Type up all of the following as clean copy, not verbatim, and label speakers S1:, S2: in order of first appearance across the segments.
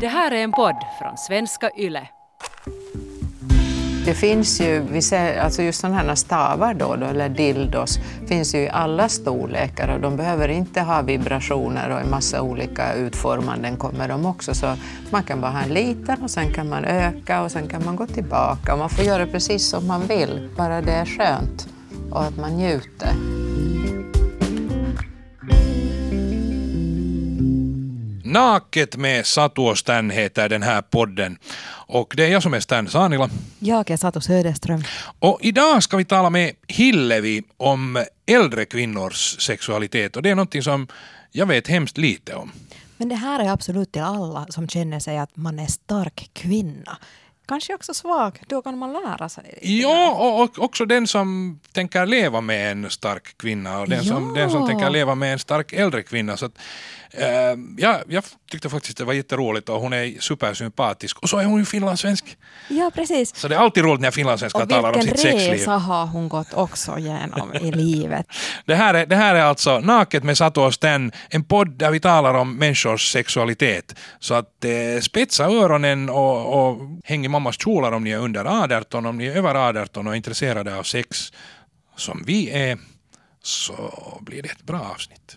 S1: Det här är en podd från Svenska Yle.
S2: Det finns ju, alltså just sådana här stavar då, eller dildos, finns ju i alla storlekar och de behöver inte ha vibrationer och en massa olika utformanden kommer de också. Så man kan bara ha en liten och sen kan man öka och sen kan man gå tillbaka och man får göra precis som man vill, bara det är skönt och att man njuter.
S3: Naket med Satu och Stan heter den här podden. Och det är jag som är Stan Sanila.
S4: Jag är Satu Söderström.
S3: Och idag ska vi tala med Hillevi om äldre kvinnors sexualitet. Och det är någonting som jag vet hemskt lite om.
S4: Men det här är absolut till alla som känner sig att man är stark kvinna. Kanske också svag, då kan man lära sig.
S3: Ja, och också den som tänker leva med en stark kvinna och den som tänker leva med en stark äldre kvinna. Så att, jag tyckte faktiskt det var jätteroligt och hon är supersympatisk. Och så är hon ju finlandssvensk.
S4: Ja, precis.
S3: Så det är alltid roligt när finlandssvenskar talar om sitt sexliv.
S4: Och vilken resa har hon gått också genom i livet.
S3: Det här är alltså Naket med Satu och Stan, en podd där vi talar om människors sexualitet. Så att spetsa öronen och häng i mammas kjolar om ni är under 18, om ni är över 18 och är intresserade av sex som vi är, så blir det ett bra avsnitt.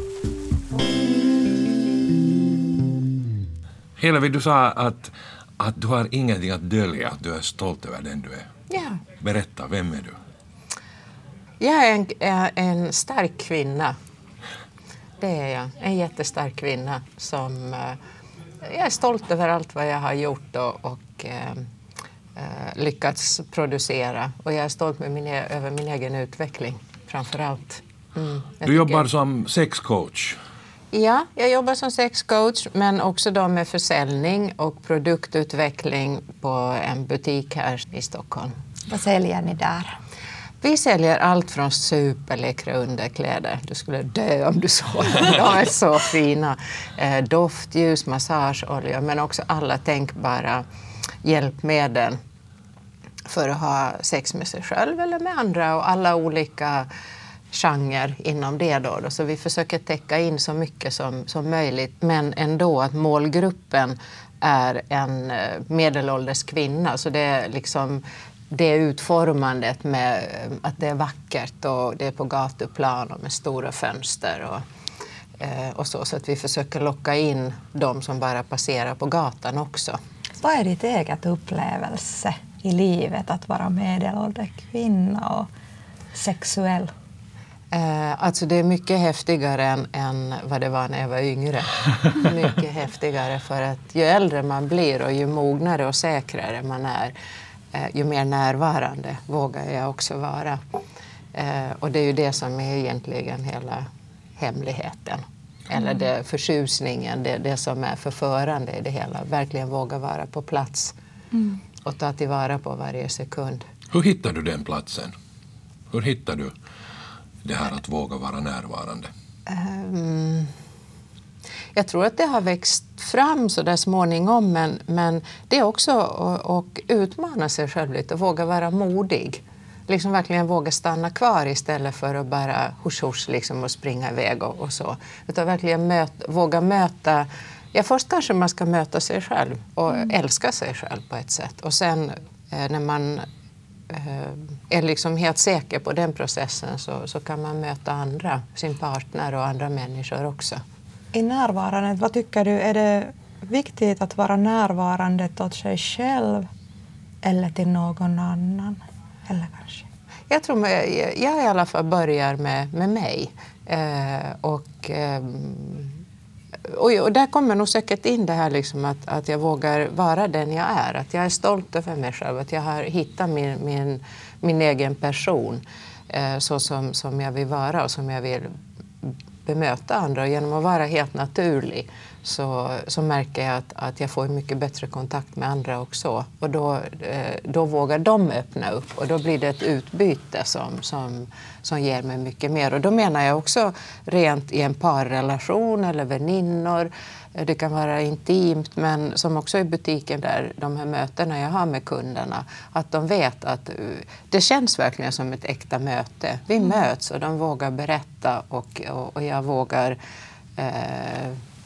S5: Hillevi, du sa att du har ingenting att dölja, att du är stolt över den du är.
S2: Ja.
S5: Berätta, vem är du?
S2: Jag är en stark kvinna. Det är jag. En jättestark kvinna som jag är stolt över allt vad jag har gjort och lyckats producera. Och jag är stolt över min egen utveckling framför allt.
S5: Du jobbar som sexcoach.
S2: Ja, jag jobbar som sexcoach men också då med försäljning och produktutveckling på en butik här i Stockholm.
S4: Vad säljer ni där?
S2: Vi säljer allt från superläckra underkläder. Du skulle dö om du såg dem. De är så fina. Doftljus, massageolja men också alla tänkbara hjälpmedel för att ha sex med sig själv eller med andra och alla olika genre inom det då. Så vi försöker täcka in så mycket som möjligt men ändå att målgruppen är en medelålders kvinna så det är liksom det utformandet med att det är vackert och det är på gatuplan och med stora fönster och så att vi försöker locka in de som bara passerar på gatan också.
S6: Vad är ditt eget upplevelse i livet att vara medelålders kvinna och sexuell?
S2: Alltså det är mycket häftigare än vad det var när jag var yngre. Mycket häftigare för att ju äldre man blir och ju mognare och säkrare man är ju mer närvarande vågar jag också vara. Och det är ju det som är egentligen hela hemligheten. Eller det förtjusningen, det som är förförande i det hela. Verkligen våga vara på plats och ta tillvara på varje sekund.
S5: Hur hittar du den platsen? Hur hittar du det här att våga vara närvarande?
S2: Jag tror att det har växt fram så där småningom men det är också att utmana sig själv lite och våga vara modig. Liksom verkligen våga stanna kvar istället för att bara husch liksom och springa iväg och så. Utan verkligen våga möta, först kanske man ska möta sig själv och älska sig själv på ett sätt. Och sen när man är liksom helt säker på den processen så kan man möta andra, sin partner och andra människor också.
S6: I närvarandet, vad tycker du? Är det viktigt att vara närvarande åt sig själv eller till någon annan? Eller kanske?
S2: Jag tror jag i alla fall börjar med mig. Och där kommer nog säkert in det här liksom att jag vågar vara den jag är. Att jag är stolt över mig själv. Att jag har hittat min egen person så som jag vill vara och som jag vill bemöta andra. Och genom att vara helt naturlig så märker jag att jag får mycket bättre kontakt med andra också. Och då vågar de öppna upp och då blir det ett utbyte som ger mig mycket mer. Och då menar jag också rent i en parrelation eller väninnor. Det kan vara intimt men som också i butiken där de här mötena jag har med kunderna. Att de vet att det känns verkligen som ett äkta möte. Vi möts och de vågar berätta och jag vågar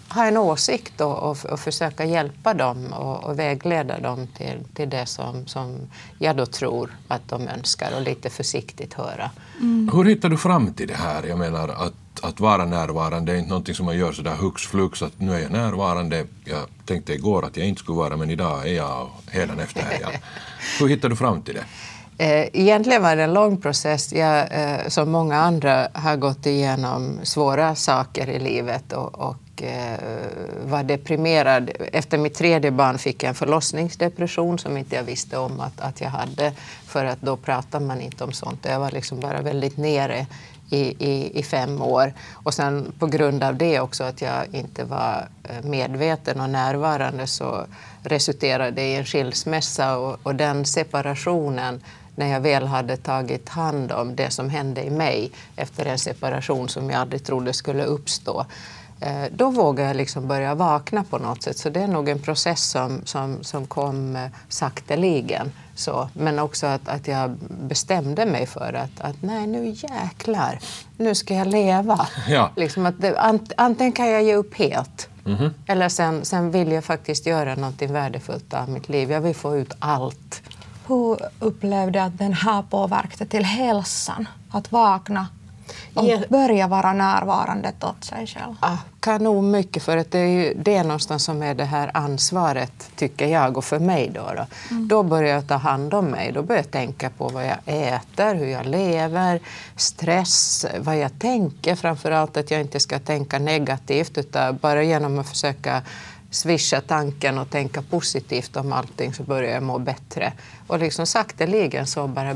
S2: ha en åsikt och försöka hjälpa dem och vägleda dem till det som jag då tror att de önskar och lite försiktigt höra.
S5: Hur hittar du fram till det här? Jag menar att vara närvarande är inte någonting som man gör så där hux flux att nu är jag närvarande. Jag tänkte igår att jag inte skulle vara, men idag är jag och hädanefter är jag. Hur hittar du fram till det?
S2: Egentligen var det en lång process. Jag, som många andra, har gått igenom svåra saker i livet och var deprimerad. Efter mitt 3:e barn fick jag en förlossningsdepression som inte jag visste om att jag hade, för att då pratar man inte om sånt. Jag var liksom bara väldigt nere i 5 år. Och sen på grund av det också, att jag inte var medveten och närvarande, så resulterade det i en skilsmässa och den separationen, när jag väl hade tagit hand om det som hände i mig efter en separation som jag aldrig trodde skulle uppstå, då vågade jag liksom börja vakna på något sätt. Så det är nog en process som kom sakteligen. Så. Men också att jag bestämde mig för att nej, nu jäklar, nu ska jag leva.
S5: Ja.
S2: Liksom att antingen kan jag ge upp helt, eller sen vill jag faktiskt göra något värdefullt av mitt liv. Jag vill få ut allt.
S6: Hur upplevde att den här påverkade till hälsan? Att vakna och börja vara närvarande åt sig själv?
S2: Kanon mycket, för att det är ju det någonstans som är det här ansvaret, tycker jag, och för mig då. Då börjar jag ta hand om mig. Då börjar jag tänka på vad jag äter, hur jag lever, stress, vad jag tänker. Framförallt att jag inte ska tänka negativt, utan bara genom att försöka swisha tanken och tänka positivt om allting, så börjar jag må bättre. Och liksom sakteligen så bara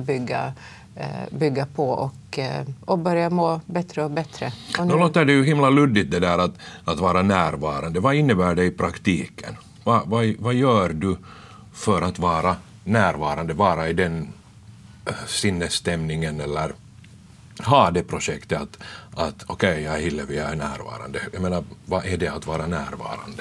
S2: bygga på och börja må bättre och bättre. Och
S5: nu låter det ju himla luddigt det där att vara närvarande. Vad innebär det i praktiken? Vad gör du för att vara närvarande, vara i den sinnesstämningen, eller ha det projektet att okej, jag är Hillevi, jag är närvarande. Jag menar, vad är det att vara närvarande?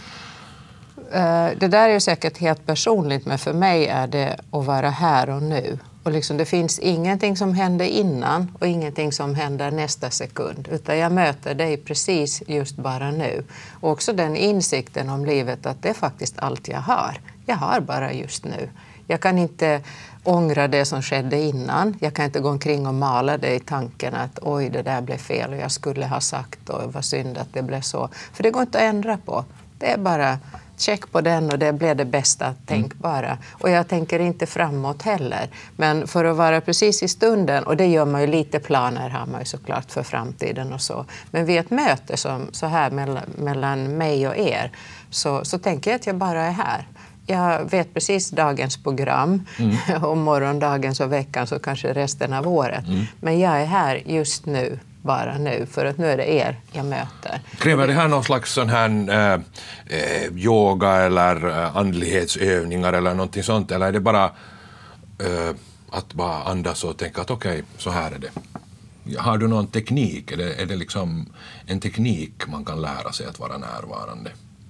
S2: Det där är ju säkert helt personligt, men för mig är det att vara här och nu. Och liksom, det finns ingenting som händer innan och ingenting som händer nästa sekund. Utan jag möter dig precis just bara nu. Och också den insikten om livet, att det är faktiskt allt jag har. Jag har bara just nu. Jag kan inte ångra det som skedde innan. Jag kan inte gå omkring och mala det i tanken att oj, det där blev fel och jag skulle ha sagt, och vad synd att det blev så. För det går inte att ändra på. Det är bara check på den och det blev det bästa tänkbara. Och jag tänker inte framåt heller. Men för att vara precis i stunden, och det gör man ju, lite planer har man ju såklart för framtiden och så. Men vid ett möte som så här mellan mig och er, så tänker jag att jag bara är här. Jag vet precis dagens program och morgondagens och veckans och kanske resten av året. Men jag är här just nu, bara nu, för att nu är det er jag möter.
S5: Kräver det här någon slags sån här yoga eller andlighetsövningar eller någonting sånt, eller är det bara att bara andas och tänka att okej, så här är det? Har du någon teknik? Är det liksom en teknik man kan lära sig att vara närvarande?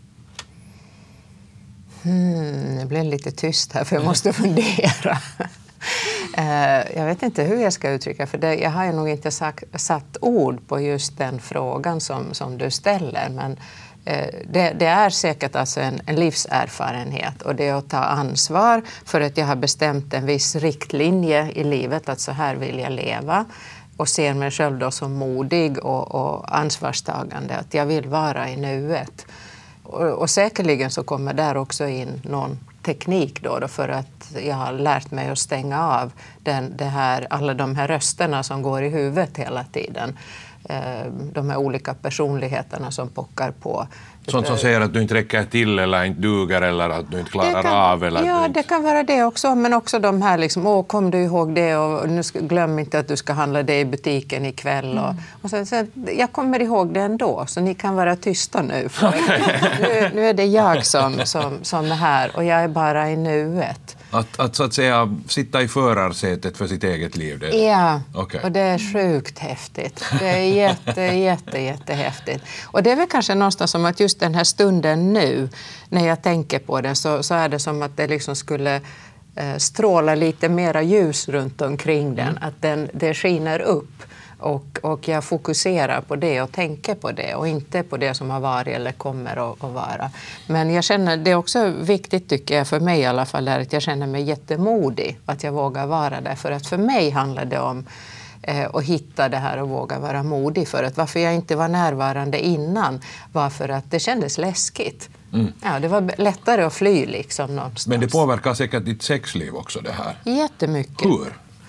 S2: Det blir lite tyst här, för jag måste fundera. Jag vet inte hur jag ska uttrycka, för jag har ju nog inte satt ord på just den frågan som du ställer. Men det är säkert alltså en livserfarenhet, och det är att ta ansvar för att jag har bestämt en viss riktlinje i livet, att så här vill jag leva. Och ser mig själv då som modig och ansvarstagande, att jag vill vara i nuet. Och säkerligen så kommer där också in någon teknik då, för att jag har lärt mig att stänga av alla de här rösterna som går i huvudet hela tiden. De här olika personligheterna som pockar på.
S5: Sånt som säger att du inte räcker till eller inte duger eller att du inte klarar av. Eller
S2: ja, det kan vara det också. Men också de här liksom, kom du ihåg det, och nu glöm inte att du ska handla det i butiken ikväll. Och så, jag kommer ihåg det ändå, så ni kan vara tysta nu. Nu är det jag som är här, och jag är bara i nuet.
S5: Att så att säga sitta i förarsätet för sitt eget liv?
S2: Ja,
S5: okay.
S2: Och det är sjukt häftigt. Det är jättehäftigt. Och det är väl kanske någonstans som att just den här stunden nu, när jag tänker på den, så är det som att det liksom skulle stråla lite mera ljus runt omkring den. Att det skiner upp. Och jag fokuserar på det och tänker på det och inte på det som har varit eller kommer att vara. Men jag känner, det är också viktigt tycker jag, för mig i alla fall, är att jag känner mig jättemodig att jag vågar vara där. För att för mig handlar det om att hitta det här och våga vara modig. För att varför jag inte var närvarande innan var för att det kändes läskigt. Ja, det var lättare att fly liksom någonstans.
S5: Men det påverkar säkert ditt sexliv också det här.
S2: Jättemycket.
S5: Hur?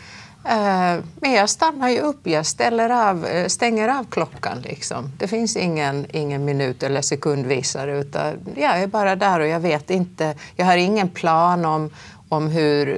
S2: Men jag stannar ju upp, jag stänger av klockan liksom. Det finns ingen minut eller sekundvisare utan jag är bara där och jag vet inte, jag har ingen plan om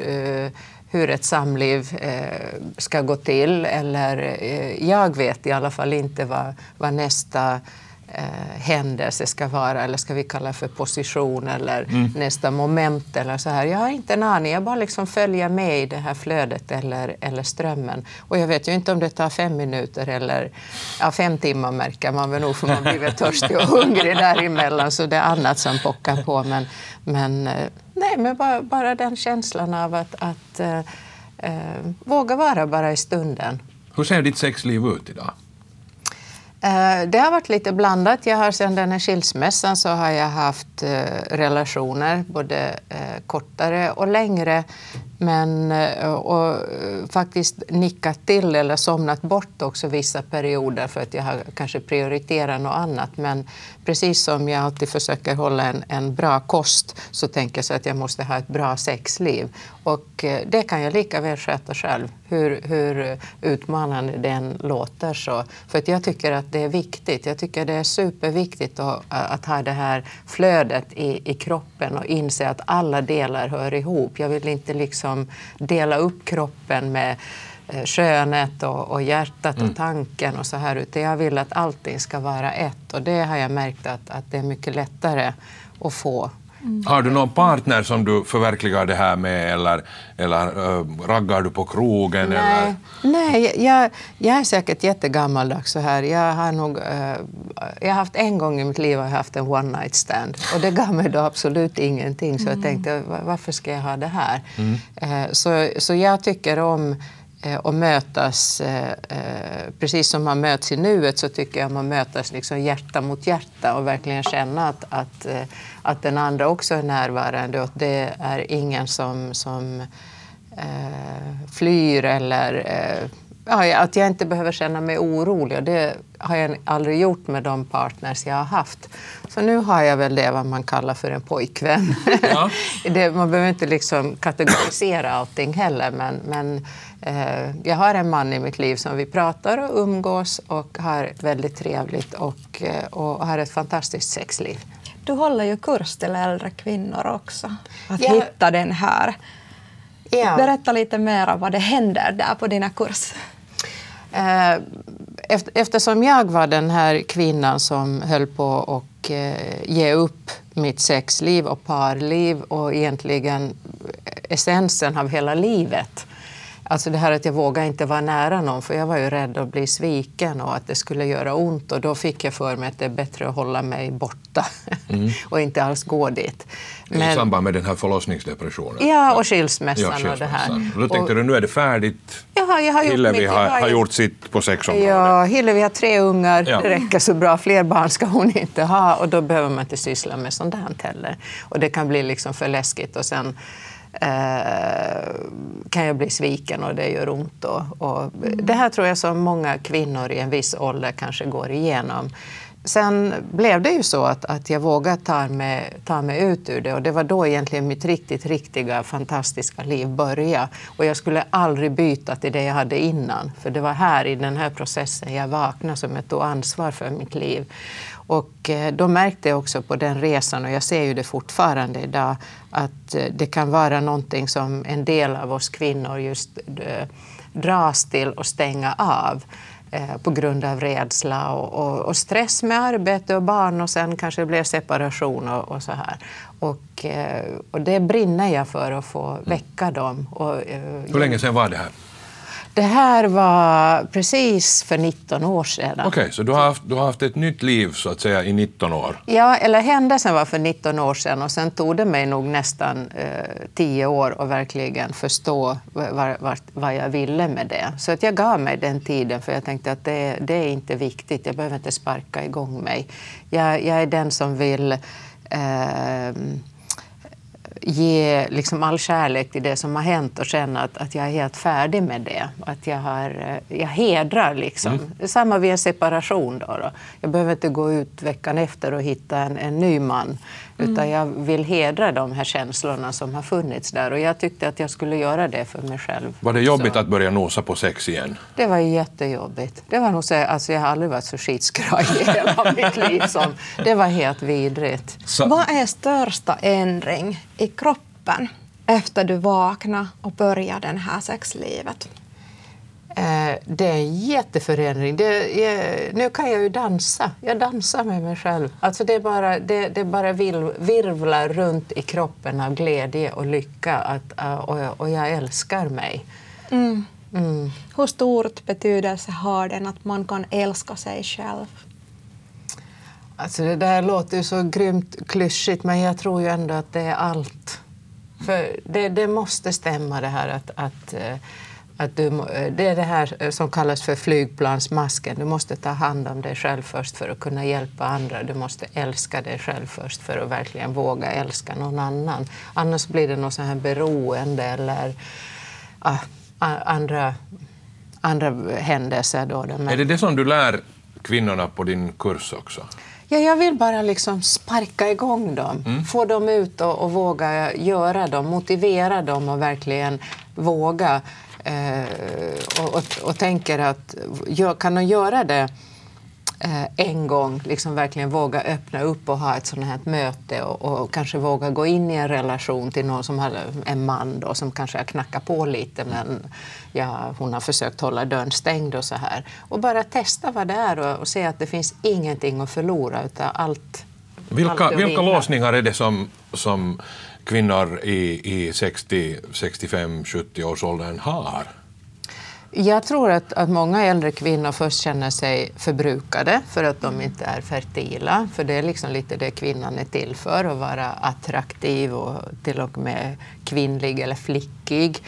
S2: hur ett samliv ska gå till eller jag vet i alla fall inte vad nästa händelse ska vara eller ska vi kalla för position eller nästa moment eller så här. Jag har inte en aning, jag bara liksom följer med i det här flödet eller strömmen. Och jag vet ju inte om det tar 5 minuter eller 5 timmar märker man väl nog för man blir väl törstig och hungrig däremellan så det är annat som pockar på. Men bara den känslan av att våga vara bara i stunden.
S5: Hur ser ditt sexliv ut idag?
S2: Det har varit lite blandat. Jag har sedan den här skilsmässan så har jag haft relationer, både kortare och längre. Och faktiskt nickat till eller somnat bort också vissa perioder för att jag har kanske prioriterat något annat. Men precis som jag alltid försöker hålla en bra kost så tänker jag så att jag måste ha ett bra sexliv. Och det kan jag lika väl sköta själv, hur utmanande den låter. Så. För att jag tycker att det är viktigt. Jag tycker det är superviktigt att ha det här flödet i kroppen och inse att alla delar hör ihop. Jag vill inte liksom dela upp kroppen med könet och hjärtat och tanken och så här, utan jag vill att allting ska vara ett och det har jag märkt att det är mycket lättare att få.
S5: Har du någon partner som du förverkligar det här med eller raggar du på krogen?
S2: Nej, jag är säkert jättegammaldags så här. Jag har haft en gång i mitt liv haft en one night stand och det gav mig då absolut ingenting så jag tänkte varför ska jag ha det här? Så jag tycker om och mötas, precis som man möts i nuet så tycker jag man mötas liksom hjärta mot hjärta och verkligen känna att den andra också är närvarande och det är ingen som flyr eller att jag inte behöver känna mig orolig och det har jag aldrig gjort med de partners jag har haft. Så nu har jag väl det vad man kallar för en pojkvän. Ja. Man behöver inte liksom kategorisera allting heller men jag har en man i mitt liv som vi pratar och umgås och har väldigt trevligt och har ett fantastiskt sexliv.
S6: Du håller ju kurs till äldre kvinnor också. Att hitta den här. Ja. Berätta lite mer om vad det händer där på dina kurser.
S2: Eftersom jag var den här kvinnan som höll på att ge upp mitt sexliv och parliv och egentligen essensen av hela livet. Alltså det här att jag vågade inte vara nära någon för jag var ju rädd att bli sviken och att det skulle göra ont och då fick jag för mig att det är bättre att hålla mig borta och inte alls gå dit.
S5: I samband med den här förlossningsdepressionen?
S2: Ja, och skilsmässan och det här.
S5: Då tänkte du nu är det färdigt.
S2: Ja, jag har
S5: Hillevi har gjort sitt på sexområdet.
S2: Ja, Hillevi har 3 ungar, det räcker så bra. Fler barn ska hon inte ha och då behöver man inte syssla med sånt här heller. Och det kan bli liksom för läskigt och sen kan jag bli sviken och det gör ont. Och det här tror jag som många kvinnor i en viss ålder kanske går igenom. Sen blev det ju så att jag vågade ta mig ut ur det och det var då egentligen mitt riktiga fantastiska liv började. Och jag skulle aldrig byta till det jag hade innan för det var här i den här processen jag vaknade som jag tog ansvar för mitt liv. Och då märkte jag också på den resan och jag ser ju det fortfarande idag att det kan vara någonting som en del av oss kvinnor just dras till och stänga av på grund av rädsla och stress med arbete och barn och sen kanske det blir separation och så här. Och det brinner jag för att få väcka dem.
S5: Hur länge sedan var det här?
S2: Det här var precis för 19 år sedan.
S5: Okej, så du har haft ett nytt liv så att säga i 19 år?
S2: Ja, eller händelsen var för 19 år sedan och sen tog det mig nog nästan 10 år att verkligen förstå vad jag ville med det. Så att jag gav mig den tiden för jag tänkte att det är inte viktigt, jag behöver inte sparka igång mig. Jag är den som vill ge liksom all kärlek till det som har hänt och känna att jag är helt färdig med det. Att jag hedrar liksom. Samma vid en separation då. Jag behöver inte gå ut veckan efter och hitta en ny man. Utan jag vill hedra de här känslorna som har funnits där. Och jag tyckte att jag skulle göra det för mig själv.
S5: Var det jobbigt att börja nosa på sex igen?
S2: Det var jättejobbigt. Det var nog så, alltså jag har aldrig varit så skitskraj i hela mitt liv. Det var helt vidrigt.
S6: Vad är största ändring i kroppen efter du vaknade och började det här sexlivet?
S2: Det är en jätteförändring. Nu kan jag ju dansa. Jag dansar med mig själv. Alltså det bara virvlar runt i kroppen av glädje och lycka. Och jag älskar mig.
S6: Hur stort betydelse har den att man kan älska sig själv?
S2: Alltså det där låter ju så grymt klyschigt, men jag tror ju ändå att det är allt. För det måste stämma det här att det är det här som kallas för flygplansmasken. Du måste ta hand om dig själv först för att kunna hjälpa andra. Du måste älska dig själv först för att verkligen våga älska någon annan. Annars blir det något så här beroende eller andra händelser. Då.
S5: Är det som du lär kvinnorna på din kurs också?
S2: Ja, jag vill bara liksom sparka igång dem. Få dem ut och våga göra dem. Motivera dem och verkligen våga. Och tänker att kan de göra det en gång, liksom verkligen våga öppna upp och ha ett sådant här möte och kanske våga gå in i en relation till någon som har en man då, som kanske har knackat på lite men hon har försökt hålla dörren stängd och så här. Och bara testa vad det är och se att det finns ingenting att förlora utan allt.
S5: Vilka låsningar är det som kvinnor i 60, 65, 70 års åldern har?
S2: Jag tror att många äldre kvinnor först känner sig förbrukade för att de inte är fertila. För det är liksom lite det kvinnan är till för, att vara attraktiv och till och med kvinnlig eller flickig.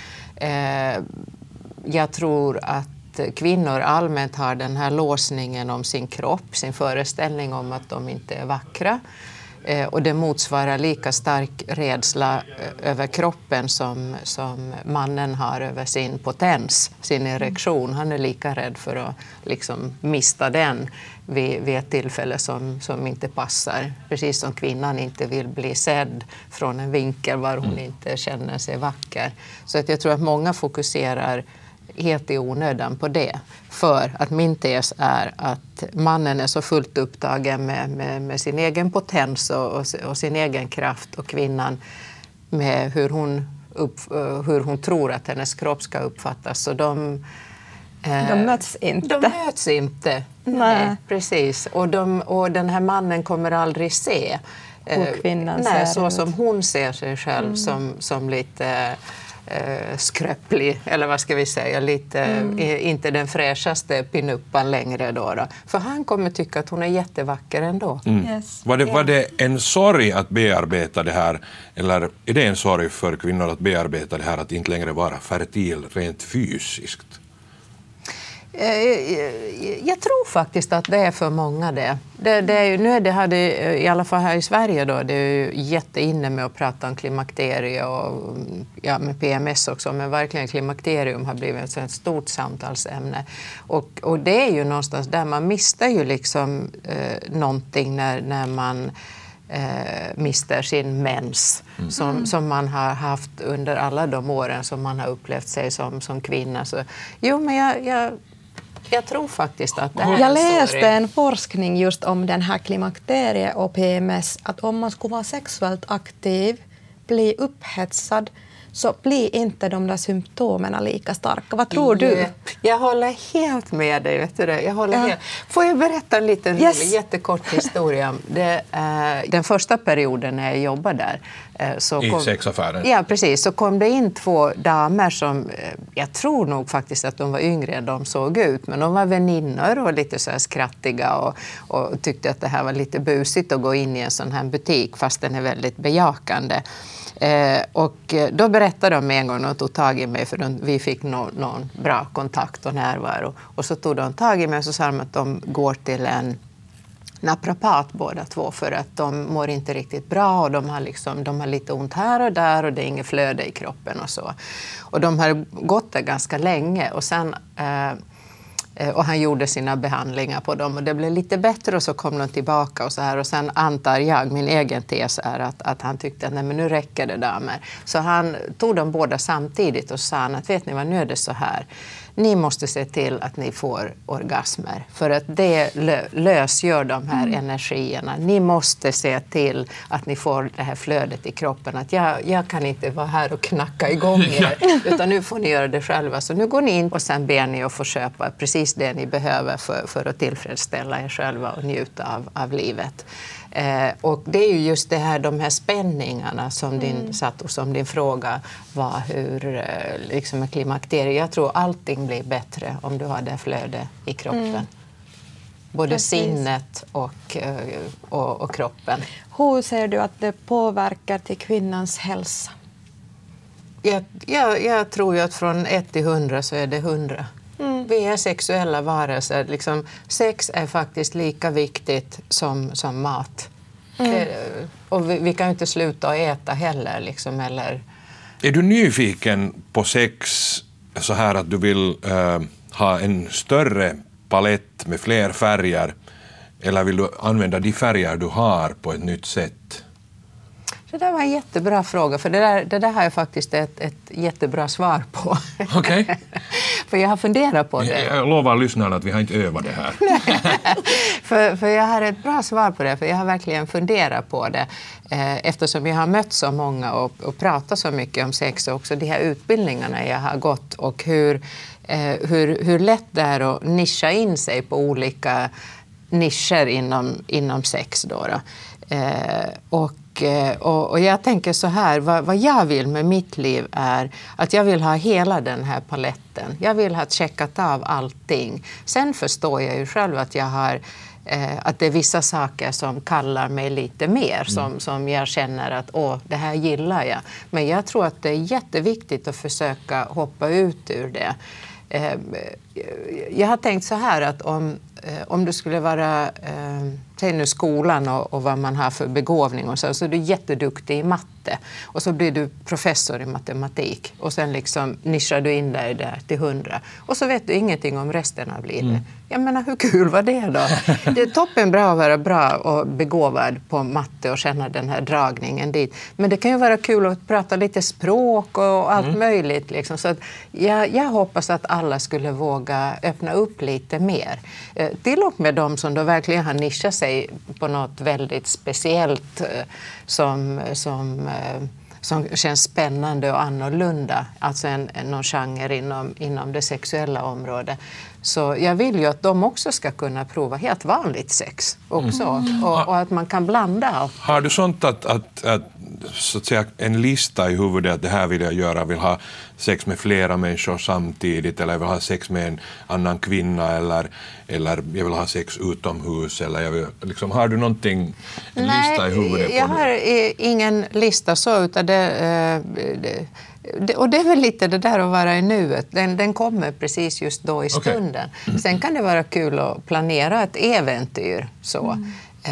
S2: Jag tror att kvinnor allmänt har den här låsningen om sin kropp, sin föreställning om att de inte är vackra. Och det motsvarar lika stark rädsla över kroppen som mannen har över sin potens, sin erektion. Han är lika rädd för att liksom mista den vid ett tillfälle som inte passar. Precis som kvinnan inte vill bli sedd från en vinkel var hon inte känner sig vacker. Så att jag tror att många fokuserar helt i onödan på det. För att min tes är att mannen är så fullt upptagen med sin egen potens och sin egen kraft och kvinnan med hur hon tror att hennes kropp ska uppfattas. Så de
S6: möts inte.
S2: De möts inte. Nej, precis. Och den här mannen kommer aldrig se
S6: kvinnan ser
S2: så
S6: ut.
S2: som hon ser sig själv som lite skröplig, eller vad ska vi säga, lite inte den fräschaste pinuppan längre då. För han kommer tycka att hon är jättevacker ändå.
S6: Yes.
S5: Var det en sorg att bearbeta det här, eller är det en sorg för kvinnor att bearbeta det här att inte längre vara fertil rent fysiskt?
S2: Jag tror faktiskt att det är för många det. I alla fall här i Sverige då, det är ju jätteinne med att prata om klimakterie och med PMS också, men verkligen klimakterium har blivit ett stort samtalsämne. Och det är ju någonstans där man mister ju liksom någonting när man mister sin mens som man har haft under alla de åren som man har upplevt sig som kvinna. Så, men jag tror faktiskt att det här
S6: Jag läste en forskning just om den här klimakterie och PMS, att om man skulle vara sexuellt aktiv, bli upphetsad, så blir inte de där symptomen lika starka. Vad tror du?
S2: Jag håller helt med dig. Vet du det? Jag håller helt. Får jag berätta en liten jättekort historia? Den första perioden när jag jobbade där.
S5: I sexaffären?
S2: Ja, precis. Så kom det in 2 damer som, jag tror nog faktiskt att de var yngre än de såg ut. Men de var väninnor och lite så här skrattiga och tyckte att det här var lite busigt att gå in i en sån här butik fast den är väldigt bejakande. Och då berättade de en gång, de tog tag i mig för vi fick någon bra kontakt och närvaro. Och så tog de tag i mig och så sa de att de går till en naprapat båda 2 för att de mår inte riktigt bra och de har lite ont här och där och det är inget flöde i kroppen och så. Och de har gått där ganska länge och sen och han gjorde sina behandlingar på dem och det blev lite bättre och så kom de tillbaka och så här och sen antar jag, min egen tes är att han tyckte att nej men nu räcker det damer. Så han tog dem båda samtidigt och sa att vet ni vad, nu är det så här. Ni måste se till att ni får orgasmer för att det lösgör de här energierna. Ni måste se till att ni får det här flödet i kroppen. Att jag kan inte vara här och knacka igång er utan nu får ni göra det själva. Så nu går ni in och sen ber ni att få köpa precis det ni behöver för att tillfredsställa er själva och njuta av livet. Och det är ju just det här, de här spänningarna som din fråga var hur liksom med klimakteriet. Jag tror allting blir bättre om du har det flöde i kroppen. Både sinnet och kroppen.
S6: Hur ser du att det påverkar till kvinnans hälsa?
S2: Jag tror ju att från 1 till 100 så är det 100. Vi är sexuella varelser. Liksom, sex är faktiskt lika viktigt som mat. Och vi kan ju inte sluta att äta heller. Liksom, eller...
S5: Är du nyfiken på sex så här att du vill ha en större palett med fler färger eller vill du använda de färger du har på ett nytt sätt?
S2: Det där var en jättebra fråga, för det där har jag faktiskt ett jättebra svar på.
S5: Okej.
S2: För jag har funderat på det.
S5: Jag lovar lyssnarna att vi har inte övat det här.
S2: för jag har ett bra svar på det, för jag har verkligen funderat på det. Eftersom jag har mött så många och pratat så mycket om sex och också de här utbildningarna jag har gått och hur lätt det är att nischa in sig på olika nischer inom sex då. Och jag tänker så här, vad jag vill med mitt liv är att jag vill ha hela den här paletten. Jag vill ha checkat av allting. Sen förstår jag ju själv att jag har att det är vissa saker som kallar mig lite mer, som jag känner att det här gillar jag. Men jag tror att det är jätteviktigt att försöka hoppa ut ur det. Jag har tänkt så här att om du skulle vara, säg nu skolan och vad man har för begåvning och så är du jätteduktig i matte och så blir du professor i matematik och sen liksom nischar du in dig där till 100 och så vet du ingenting om resten av livet. Jag menar, hur kul var det då? Det är toppen bra att vara bra och begåvad på matte och känna den här dragningen dit. Men det kan ju vara kul att prata lite språk och allt möjligt. Liksom. Så att jag hoppas att alla skulle våga öppna upp lite mer. Till och med de som då verkligen har nischat sig på något väldigt speciellt som känns spännande och annorlunda. Alltså någon genre inom det sexuella området. Så jag vill ju att de också ska kunna prova helt vanligt sex också. Och att man kan blanda allt.
S5: Har du sånt att så att säga, en lista i huvudet att det här vill jag göra, vill ha sex med flera människor samtidigt eller jag vill ha sex med en annan kvinna eller jag vill ha sex utomhus eller jag vill, liksom, har du någonting, en lista i huvudet?
S2: Jag har ingen lista så utan och det är väl lite det där att vara i nuet. Den kommer precis just då i stunden. Sen kan det vara kul att planera ett äventyr så.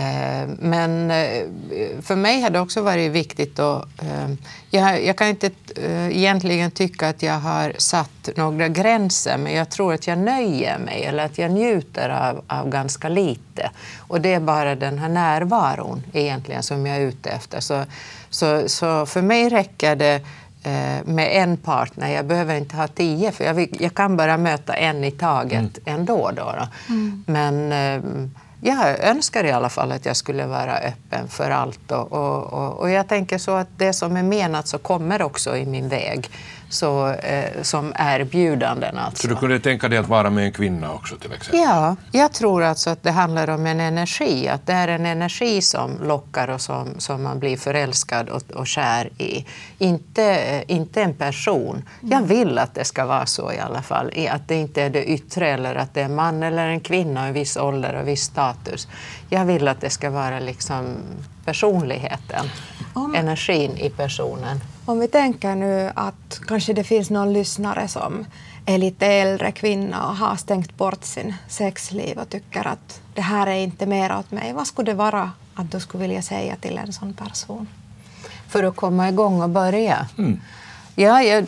S2: Men för mig har det också varit viktigt att jag kan inte egentligen tycka att jag har satt några gränser, men jag tror att jag nöjer mig eller att jag njuter av ganska lite. Och det är bara den här närvaron egentligen som jag är ute efter. Så för mig räcker det med en partner. Jag behöver inte ha 10 för jag kan bara möta en i taget ändå. Men Jag önskar i alla fall att jag skulle vara öppen för allt och jag tänker så att det som är menat så kommer också i min väg så, som erbjudanden. Alltså.
S5: Så du kunde tänka dig att vara med en kvinna också till exempel?
S2: Ja, jag tror alltså att det handlar om en energi, att det är en energi som lockar och som man blir förälskad och kär i. Inte en person. Jag vill att det ska vara så i alla fall, att det inte är det yttre eller att det är en man eller en kvinna i en viss ålder och viss status. Jag vill att det ska vara liksom personligheten, energin i personen.
S6: Om vi tänker nu att kanske det finns någon lyssnare som är lite äldre kvinna och har stängt bort sin sexliv och tycker att det här är inte mer åt mig. Vad skulle det vara att du skulle vilja säga till en sån person?
S2: För att komma igång och börja. Ja,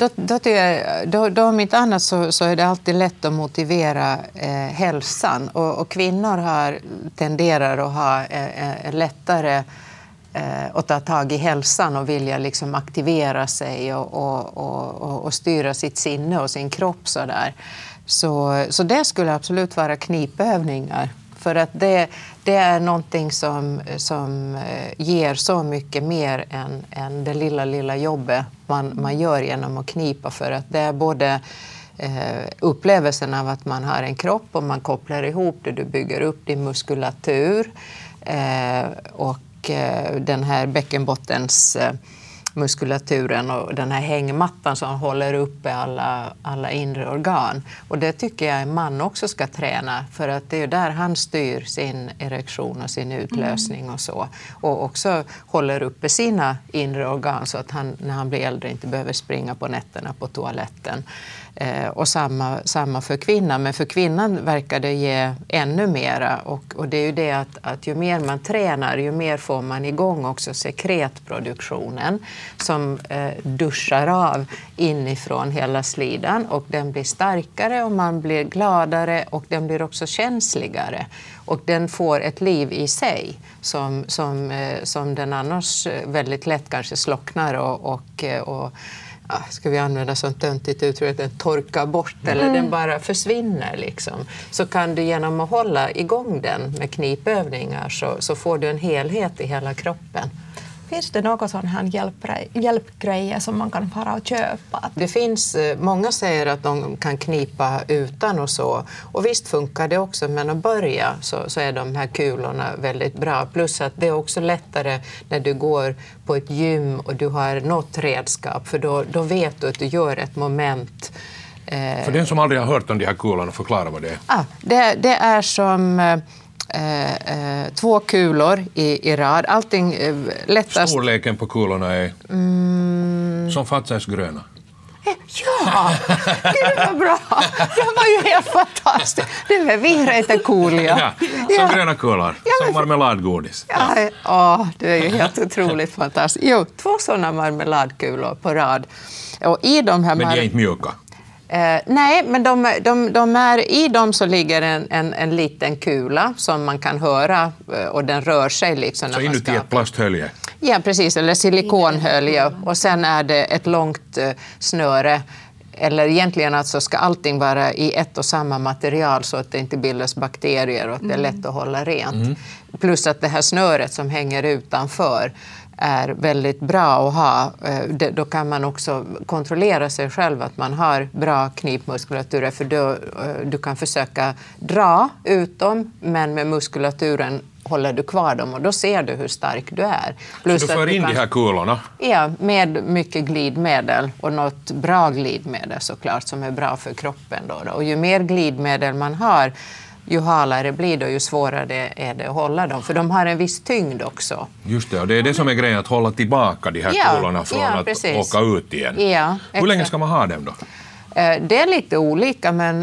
S2: då om inte annat så är det alltid lätt att motivera hälsan. Och kvinnor tenderar att ha lättare att ta tag i hälsan och vilja liksom aktivera sig och styra sitt sinne och sin kropp så där. Så det skulle absolut vara knipövningar. För att det är någonting som ger så mycket mer än det lilla jobbet man gör genom att knipa. För att det är både upplevelsen av att man har en kropp och man kopplar ihop det, du bygger upp din muskulatur och den här bäckenbottens muskulaturen och den här hängmattan som håller uppe alla inre organ. Och det tycker jag en man också ska träna, för att det är där han styr sin erektion och sin utlösning och så. Och också håller uppe sina inre organ så att han när han blir äldre inte behöver springa på nätterna på toaletten. Och samma för kvinnan, men för kvinnan verkar det ge ännu mera och det är ju det att ju mer man tränar ju mer får man igång också sekretproduktionen som duschar av inifrån hela slidan och den blir starkare och man blir gladare och den blir också känsligare och den får ett liv i sig som den annars väldigt lätt kanske slocknar och ska vi använda sånt töntigt uttryck, att den torkar bort eller den bara försvinner liksom. Så kan du genom att hålla igång den med knipövningar så får du en helhet i hela kroppen.
S6: Finns det något sån här hjälpgrejer som man kan fara och köpa?
S2: Det finns, många säger att de kan knipa utan och så. Och visst funkar det också, men att börja så är de här kulorna väldigt bra. Plus att det är också lättare när du går på ett gym och du har något redskap. För då vet du att du gör ett moment.
S5: För den som aldrig har hört om de här kulorna, förklara vad det är.
S2: Det är som 2 kulor i rad. Allting lättast.
S5: Storleken på kulorna är som Fatsays gröna.
S2: Ja, gud vad bra. Det var ju helt fantastiskt. Det är virheitekulja.
S5: Ja, som gröna kulor, som marmeladgodis.
S2: Ja, det är ju helt otroligt fantastiskt. Jo, 2 sådana marmeladkulor på rad. Och i de här
S5: men de är inte mjuka.
S2: Nej, men de är, i dem så ligger en liten kula som man kan höra och den rör sig liksom.
S5: Så inuti ett plasthölje?
S2: Ja, precis, eller silikonhölje och sen är det ett långt snöre. Eller egentligen alltså ska allting vara i ett och samma material så att det inte bildas bakterier och att det är lätt att hålla rent. Plus att det här snöret som hänger utanför är väldigt bra att ha. Då kan man också kontrollera sig själv att man har bra knipmuskulatur. För du kan försöka dra ut dem, men med muskulaturen håller du kvar dem och då ser du hur stark du är.
S5: Plus så du får in de här kulorna?
S2: Ja, med mycket glidmedel och något bra glidmedel såklart som är bra för kroppen. Då. Och ju mer glidmedel man har, ju halare blir det och ju svårare är det att hålla dem. För de har en viss tyngd också.
S5: Just det, och det är det som är grejen, att hålla tillbaka de här kulorna från att
S2: precis.
S5: åka ut igen.
S2: Ja,
S5: hur länge ska man ha dem då?
S2: Det är lite olika, men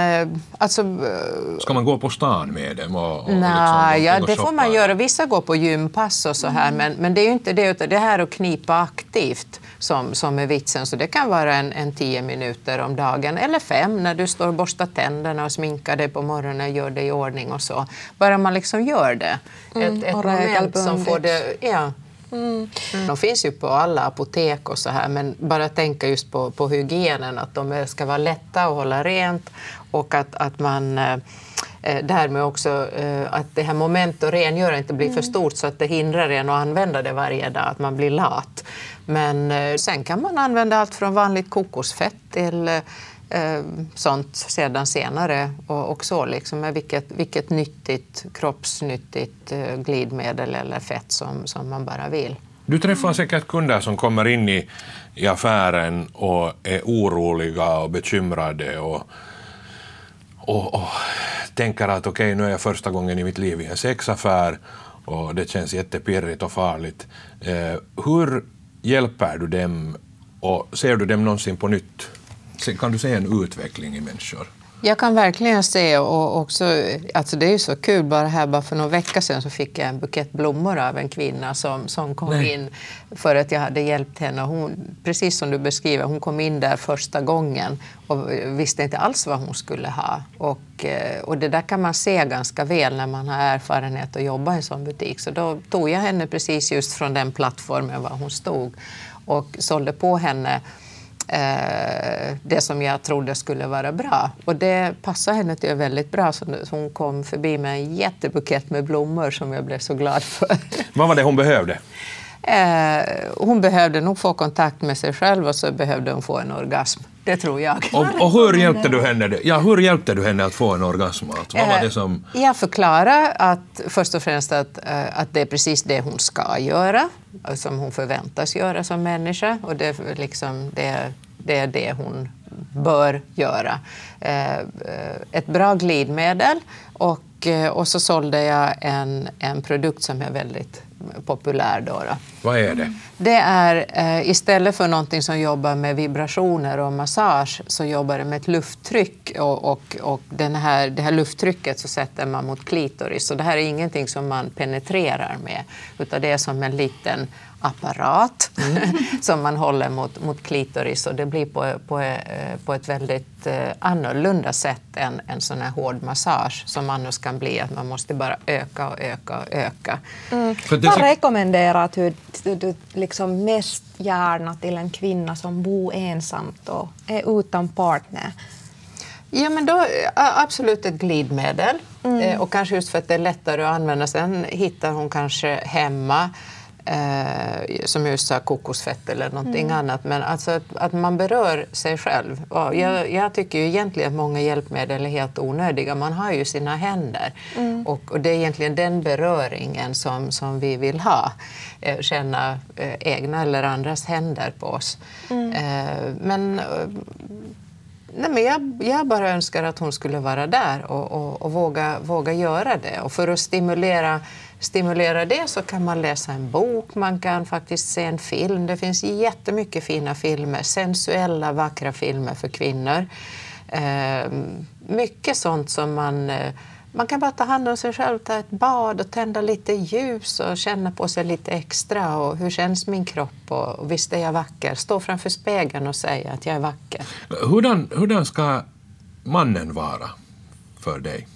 S5: ska man gå på stan med dem?
S2: Nej, det får man göra. Vissa går på gympass och så här, men det är ju inte det, utan det här att knipa aktivt som är vitsen. Så det kan vara en 10 minuter om dagen, eller 5 när du står och borstar tänderna och sminkar dig på morgonen, gör det i ordning och så. Bara man liksom gör det. Ett moment som får det... Ja. De finns ju på alla apotek och så här, men bara tänka just på hygienen, att de ska vara lätta att hålla rent och att man Därmed också att det här moment och rengöra inte blir för stort så att det hindrar en att använda det varje dag, att man blir lat. Men sen kan man använda allt från vanligt kokosfett till sånt sedan senare och så liksom med vilket nyttigt, kroppsnyttigt glidmedel eller fett som man bara vill.
S5: Du träffar säkert kunder som kommer in i affären och är oroliga och bekymrade och tänker att okej, nu är jag första gången i mitt liv i en sexaffär och det känns jättepirrigt och farligt. Hur hjälper du dem och ser du dem någonsin på nytt? Kan du se en utveckling i människor?
S2: Jag kan verkligen se och också, alltså det är ju så kul, bara för några veckor sedan så fick jag en bukett blommor av en kvinna som kom in för att jag hade hjälpt henne. Hon, precis som du beskriver, hon kom in där första gången och visste inte alls vad hon skulle ha. Och det där kan man se ganska väl när man har erfarenhet att jobba i en sån butik. Så då tog jag henne precis just från den plattformen var hon stod och sålde på henne det som jag trodde skulle vara bra. Och det passade henne till väldigt bra. Så hon kom förbi med en jättebukett med blommor som jag blev så glad för.
S5: Vad var det hon behövde?
S2: Hon behövde nog få kontakt med sig själv och så behövde hon få en orgasm. Det tror jag.
S5: Och hur hjälpte du henne? Ja, hur hjälpte du henne att få en orgasm? Vad var det som... Jag
S2: förklarar att först och främst att det är precis det hon ska göra, som hon förväntas göra som människa. Och det är det hon bör göra. Ett bra glidmedel och så sålde jag en produkt som är väldigt populär då.
S5: Vad är det?
S2: Det är istället för någonting som jobbar med vibrationer och massage så jobbar det med ett lufttryck och det här lufttrycket så sätter man mot klitoris. Så det här är ingenting som man penetrerar med utan det är som en liten apparat som man håller mot klitoris och det blir på ett väldigt annorlunda sätt än en sån här hård massage som annars kan bli att man måste bara öka och öka och öka.
S6: Vad rekommenderar du liksom mest gärna till en kvinna som bor ensamt och är utan partner?
S2: Ja, men då absolut ett glidmedel och kanske just för att det är lättare att använda. Sen hittar hon kanske hemma som just sa kokosfett eller någonting annat, men alltså att man berör sig själv. Jag tycker ju egentligen att många hjälpmedel är helt onödiga. Man har ju sina händer och det är egentligen den beröringen som vi vill ha. Känna egna eller andras händer på oss. Men jag bara önskar att hon skulle vara där och våga göra det. Och för att stimulera det så kan man läsa en bok, man kan faktiskt se en film. Det finns jättemycket fina filmer, sensuella, vackra filmer för kvinnor. Mycket sånt som man kan bara ta hand om sig själv, ta ett bad och tända lite ljus och känna på sig lite extra. Och hur känns min kropp och visst är jag vacker? Stå framför spegeln och säga att jag är vacker.
S5: Hurdan ska mannen vara för dig?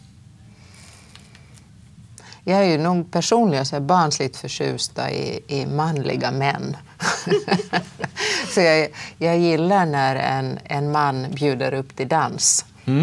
S2: Jag är ju nog personligen så barnsligt förtjusta i manliga män. Så jag gillar när en man bjuder upp till dans.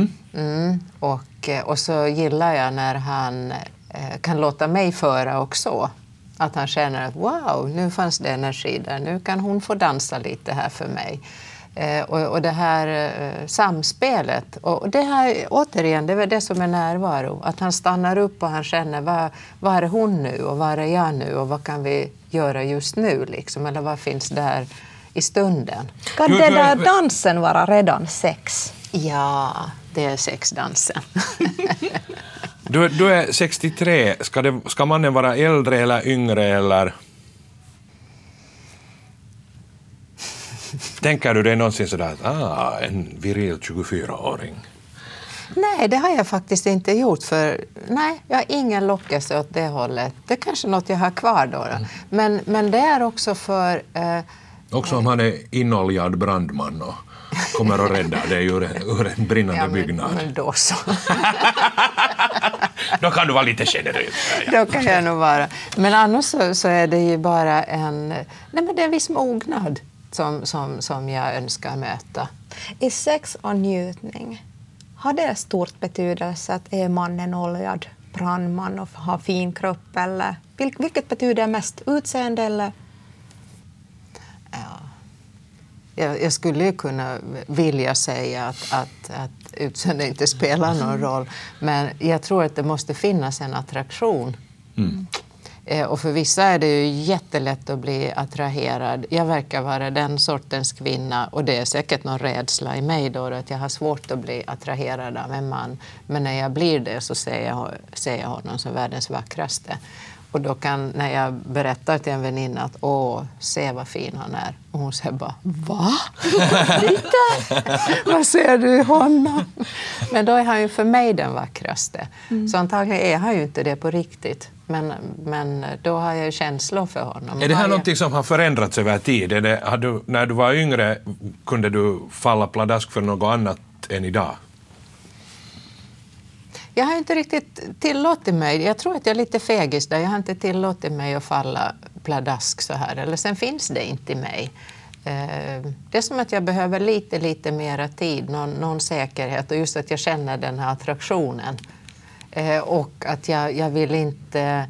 S2: Och så gillar jag när han kan låta mig föra också. Att han känner att wow, nu fanns det energi där. Nu kan hon få dansa lite här för mig. Och det här samspelet. Och det här, återigen, det är det som är närvaro. Att han stannar upp och han känner vad är hon nu och vad är jag nu och vad kan vi göra just nu liksom. Eller vad finns där i stunden.
S6: Kan den där dansen vara redan sex?
S2: Ja, det är sexdansen.
S5: Du är 63. Ska mannen vara äldre eller yngre eller? Tänker du dig någonsin sådär att en viril 24-åring?
S2: Nej, det har jag faktiskt inte gjort för jag har ingen lockelse åt det hållet. Det är kanske något jag har kvar då. Men det är också för...
S5: Också om han är inoljad brandman och kommer att rädda dig ur en brinnande byggnad.
S2: Men då så.
S5: Då kan du vara lite generös.
S2: Då kan jag nog vara. Men annars så är det ju bara det är en viss mognad som jag önskar möta.
S6: Är sex och njutning har det stort betydelse att är mannen oljad brandman och har fin kropp? Eller vilket betyder mest? Utseende eller?
S2: Jag skulle ju kunna vilja säga att utseende inte spelar någon roll. Men jag tror att det måste finnas en attraktion. Och för vissa är det ju jättelätt att bli attraherad. Jag verkar vara den sortens kvinna, och det är säkert någon rädsla i mig då, att jag har svårt att bli attraherad av en man. Men när jag blir det så ser jag honom som världens vackraste. Och då kan, när jag berättar till en väninna att se vad fin han är. Och hon säger bara, va? Lite? Vad ser du i honom? Men då är han ju för mig den vackraste. Så antagligen är han ju inte det på riktigt. Men då har jag ju känslor för honom.
S5: Är det här någonting som har förändrats över tid? När du var yngre kunde du falla pladask för något annat än idag?
S2: Jag har inte riktigt tillåtit mig. Jag tror att jag är lite fegis där. Jag har inte tillåtit mig att falla pladask så här. Eller sen finns det inte i mig. Det är som att jag behöver lite mera tid. Någon säkerhet. Och just att jag känner den här attraktionen. Och att jag vill inte...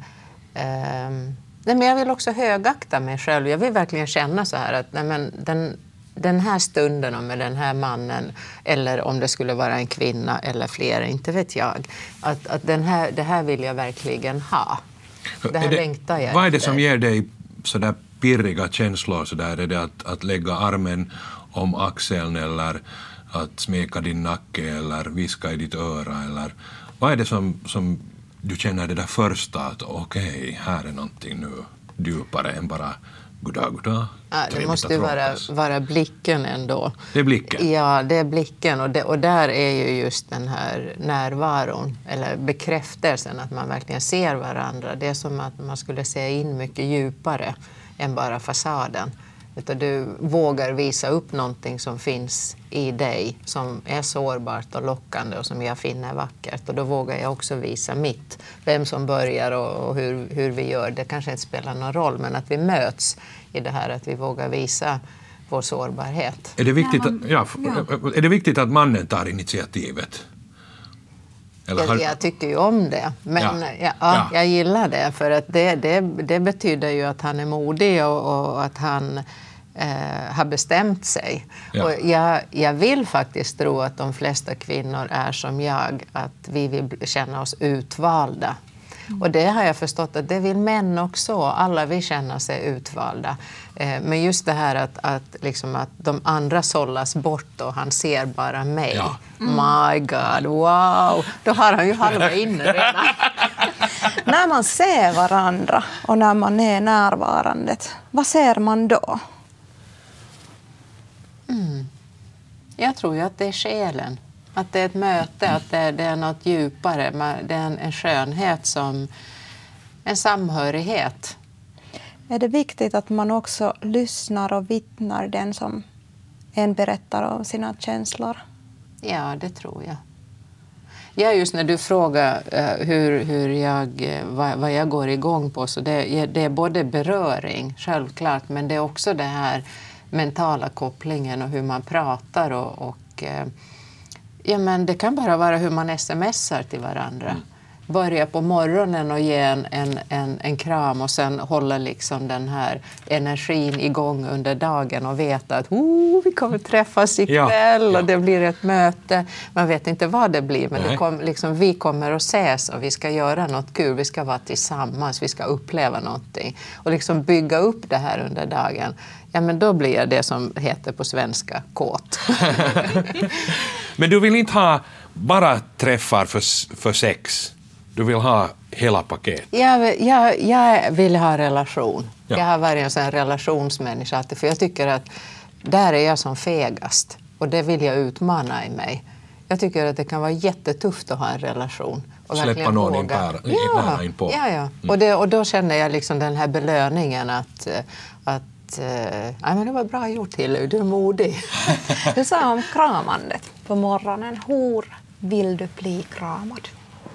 S2: men jag vill också högakta mig själv. Jag vill verkligen känna så här att den här stunden och med den här mannen, eller om det skulle vara en kvinna eller fler, inte vet jag. Att det här vill jag verkligen ha. Det här längtar jag
S5: Vad är det
S2: efter.
S5: som ger dig sådär pirriga känslor? Sådär? Är det att lägga armen om axeln, eller att smeka din nacke, eller viska i ditt öra? Eller vad är det som du känner det där första, att okej, här är någonting nu djupare än bara goddag.
S2: Det måste ju vara blicken ändå.
S5: Det är blicken?
S2: Ja, det är blicken. Och där är ju just den här närvaron, eller bekräftelsen att man verkligen ser varandra. Det är som att man skulle se in mycket djupare än bara fasaden. Utan du vågar visa upp någonting som finns i dig, som är sårbart och lockande och som jag finner vackert. Och då vågar jag också visa mitt. Vem som börjar och hur vi gör, det kanske inte spelar någon roll. Men att vi möts i det här, att vi vågar visa vår sårbarhet.
S5: Är det viktigt att mannen tar initiativet?
S2: Jag tycker ju om det, men jag gillar det, för att det betyder ju att han är modig och att han har bestämt sig.
S5: Ja.
S2: Och jag vill faktiskt tro att de flesta kvinnor är som jag, att vi vill känna oss utvalda. Och det har jag förstått att det vill män också. Alla vill känna sig utvalda. Men just det här att de andra sållas bort och han ser bara mig.
S5: Ja.
S2: My God, wow! Då har han ju halva inne redan.
S6: När man ser varandra och när man är närvarande, vad ser man då?
S2: Jag tror ju att det är själen. Att det är ett möte, att det är något djupare. Det är en skönhet, som en samhörighet.
S6: Är det viktigt att man också lyssnar och vittnar den som en berättar om sina känslor?
S2: Ja, det tror jag. Ja, just när du frågar vad jag går igång på, så det är både beröring, självklart, men det är också det här mentala kopplingen och hur man pratar men det kan bara vara hur man smsar till varandra. Börja på morgonen och ge en kram och sen hålla den här energin igång under dagen och veta att vi kommer träffas ikväll och det blir ett möte. Man vet inte vad det blir, men vi kommer att ses och vi ska göra något kul. Vi ska vara tillsammans, vi ska uppleva någonting och bygga upp det här under dagen. Ja, men då blir jag det som heter på svenska kåt.
S5: Men du vill inte ha bara träffar för sex? Du vill ha hela paket?
S2: Jag vill ha relation.
S5: Ja.
S2: Jag har varit en sån relationsmänniska. För jag tycker att där är jag som fegast. Och det vill jag utmana i mig. Jag tycker att det kan vara jättetufft att ha en relation. Och
S5: släppa någon nära in på.
S2: Ja. Och då känner jag den här belöningen att men det var bra gjort, Hillevi, du är modig.
S6: Du sa om kramandet på morgonen. Hur vill du bli kramad?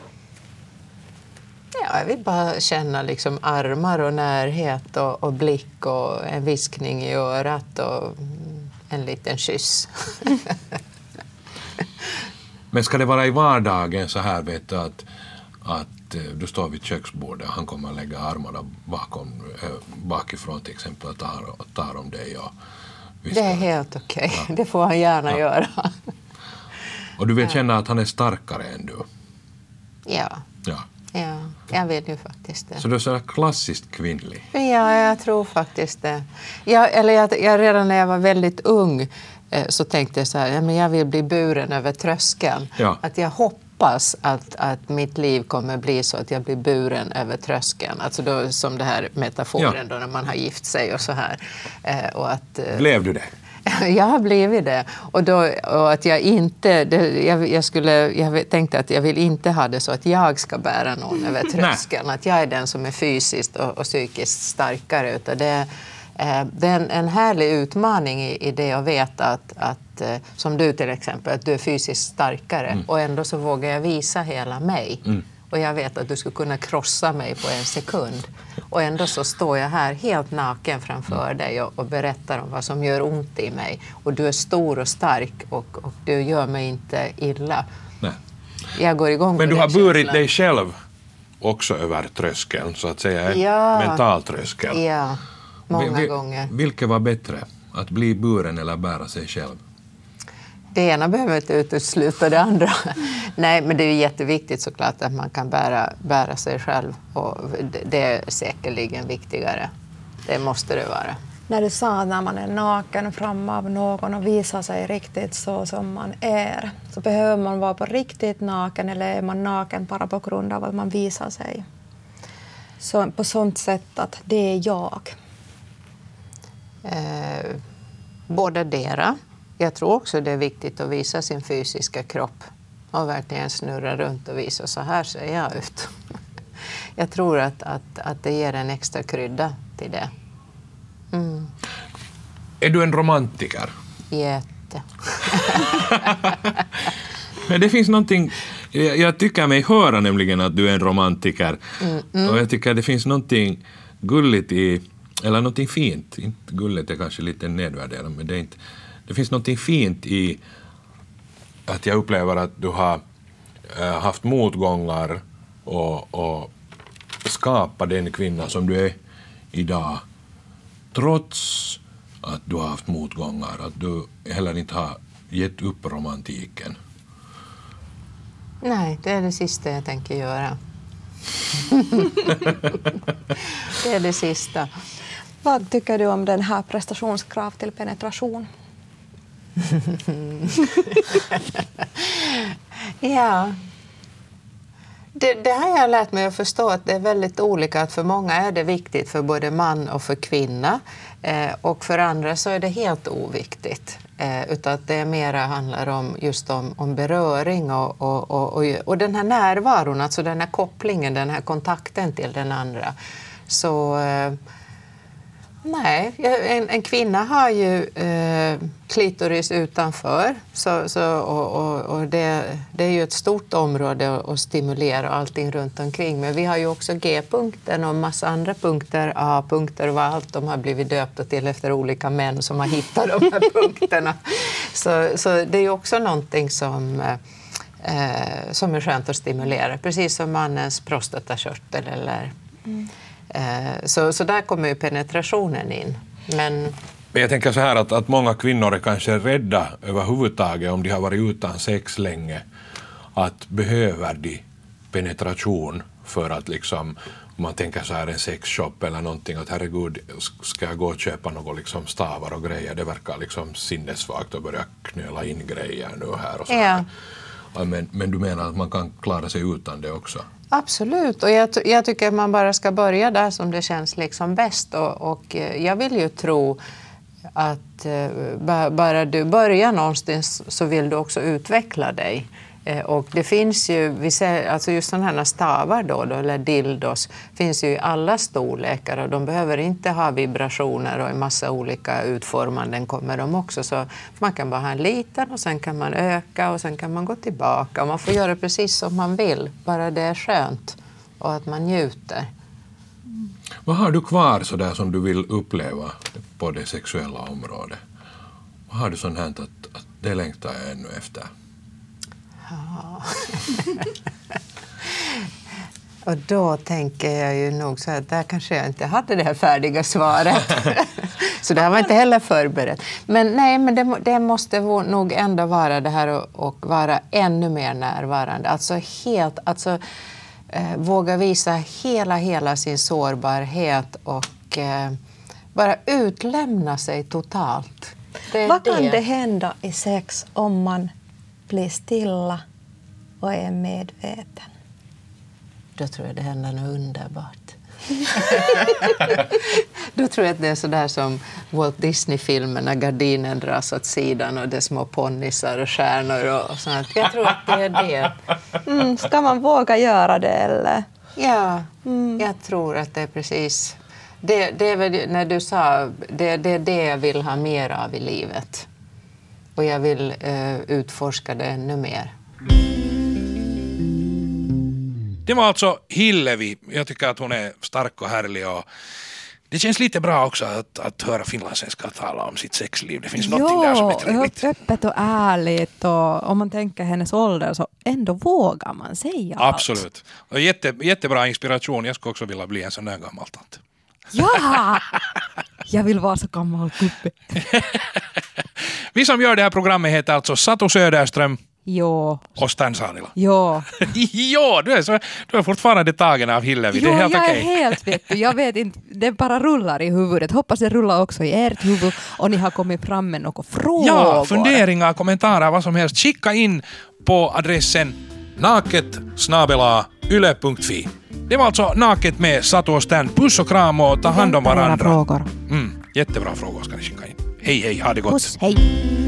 S2: Ja, jag vill bara känna armar och närhet och blick och en viskning i örat och en liten kyss.
S5: Men ska det vara i vardagen så här, vet du, att du står vid köksbordet och han kommer att lägga armarna bakifrån till exempel och tar om dig och viskar.
S2: Det är helt okej. Ja. Det får han gärna göra.
S5: Och du vill känna att han är starkare än du?
S2: Ja, jag vill ju faktiskt det.
S5: Så du är så klassiskt kvinnlig?
S2: Ja, jag tror faktiskt det. Jag redan när jag var väldigt ung så tänkte jag så här, men jag vill bli buren över tröskeln.
S5: Ja.
S2: Att jag hoppas att mitt liv kommer bli så att jag blir buren över tröskeln. Alltså då, som det här metaforen då när man har gift sig och så här. Och att,
S5: blev du det?
S2: Jag har blivit det. Och att jag inte... Jag tänkte att jag vill inte ha det så att jag ska bära någon över tröskeln. Att jag är den som är fysiskt och psykiskt starkare. Utan det är en härlig utmaning i det att veta att som du till exempel, att du är fysiskt starkare. Och ändå så vågar jag visa hela mig. Och jag vet att du skulle kunna krossa mig på en sekund. Och ändå så står jag här helt naken framför dig och berättar om vad som gör ont i mig. Och du är stor och stark och du gör mig inte illa.
S5: Nej.
S2: Jag går igång.
S5: Men
S2: på
S5: du har
S2: den
S5: burit
S2: känslan.
S5: dig själv också över tröskeln, så att säga, en mental tröskel.
S2: Ja, många gånger.
S5: Vilket var bättre, att bli buren eller bära sig själv?
S2: Det ena behöver inte utesluta det andra. Nej, men det är jätteviktigt såklart att man kan bära sig själv. Och det är säkerligen viktigare. Det måste det vara.
S6: När du sa att när man är naken fram av någon och visar sig riktigt så som man är, så behöver man vara på riktigt naken, eller är man naken bara på grund av att man visar sig? Så, på sånt sätt att det är jag.
S2: Båda dera. Jag tror också det är viktigt att visa sin fysiska kropp och verkligen snurra runt och visa så här ser jag ut. Jag tror att det ger en extra krydda till det.
S5: Är du en romantiker?
S2: Jätte.
S5: Men det finns någonting, jag tycker mig höra nämligen att du är en romantiker. Och jag tycker det finns någonting gulligt i, eller någonting fint, inte gulligt är kanske lite nedvärderande, men det är inte. Det finns något fint i att jag upplever att du har haft motgångar och skapat den kvinna som du är idag, trots att du har haft motgångar, att du heller inte har gett upp romantiken.
S2: Nej, det är det sista jag tänker göra. Det är det sista.
S6: Vad tycker du om den här prestationskrav till penetration?
S2: Ja, det har jag lärt mig att förstå att det är väldigt olika. Att för många är det viktigt, för både man och för kvinna. Och för andra så är det helt oviktigt. Utan att det mera handlar om just om beröring och den här närvaron, alltså den här kopplingen, den här kontakten till den andra. Så... Nej, en kvinna har ju klitoris utanför och det är ju ett stort område att stimulera allting runt omkring. Men vi har ju också G-punkten och massa andra punkter, A-punkter och allt de har blivit döpta till efter olika män som har hittat de här punkterna. Så det är ju också någonting som är skönt att stimulera, precis som mannens prostatakörtel eller... Så där kommer ju penetrationen in. Men
S5: jag tänker så här att många kvinnor är kanske rädda överhuvudtaget om de har varit utan sex länge, att behöver de penetration för att liksom, om man tänker så här en sexshop eller någonting, att herregud, ska jag gå och köpa något liksom stavar och grejer, det verkar liksom sinnessvagt att börja knöla in grejer nu här och så här. Ja, men du menar att man kan klara sig utan det också?
S2: Absolut, och jag tycker att man bara ska börja där som det känns liksom bäst. Och jag vill ju tro att bara du börjar någonstans så vill du också utveckla dig. Och det finns ju, alltså just sådana här stavar då, eller dildos, finns ju i alla storlekar och de behöver inte ha vibrationer och en massa olika utformanden kommer de också. Så man kan bara ha en liten och sen kan man öka och sen kan man gå tillbaka. Och man får göra precis som man vill, bara det är skönt och att man njuter.
S5: Vad har du kvar så där som du vill uppleva på det sexuella området? Vad har du sånt här att det längtar jag ännu efter?
S2: Och då tänker jag ju nog så att där kanske jag inte hade det här färdiga svaret. Så det här var inte heller förberett. Men nej, men det måste nog ändå vara det här och vara ännu mer närvarande. Alltså våga visa hela sin sårbarhet och bara utlämna sig totalt.
S6: Vad kan det hända i sex om man blir stilla och är medveten?
S2: Då tror jag det händer något underbart. Då tror jag att det är sådär som Walt Disney-filmen när gardinen dras åt sidan och det är små ponnissar och stjärnor och sånt. Jag tror att det är det.
S6: Ska man våga göra det eller?
S2: Ja, jag tror att det är precis... Det är väl när du sa, det är det jag vill ha mer av i livet. Och jag vill utforska det ännu mer.
S3: Det var alltså Hillevi. Jag tycker att hon är stark och härlig och det känns lite bra också att höra finlandssvenskar tala om sitt sexliv. Det finns något där som är trevligt.
S4: Öppet och ärligt och om man tänker hennes ålder så ändå vågar man säga allt.
S3: Absolut. Och jättebra inspiration. Jag skulle också vilja bli en sån där gammal tant.
S4: Ja! Jag vill vara så gammal gubbe.
S3: Vi som gör det här programmet heter alltså Satu Söderström.
S4: Jo.
S3: Och Stan Saarila.
S4: Jo.
S3: Jo, du är fortfarande tagen av Hillevi.
S4: Jo,
S3: det är helt
S4: jag
S3: okej.
S4: är helt jag vet inte, det bara rullar i huvudet. Hoppas det rullar också i ert huvud och ni har kommit fram med några frågor.
S3: Ja, funderingar, kommentarer, vad som helst. Skicka in på adressen naket@yle.fi. Det var alltså Naket med Satu och Stan. Puss och kram och ta hand om varandra.
S4: Frågor.
S3: Jättebra frågor ska ni skicka in. Hej, ha det gott.
S4: Puss, hej.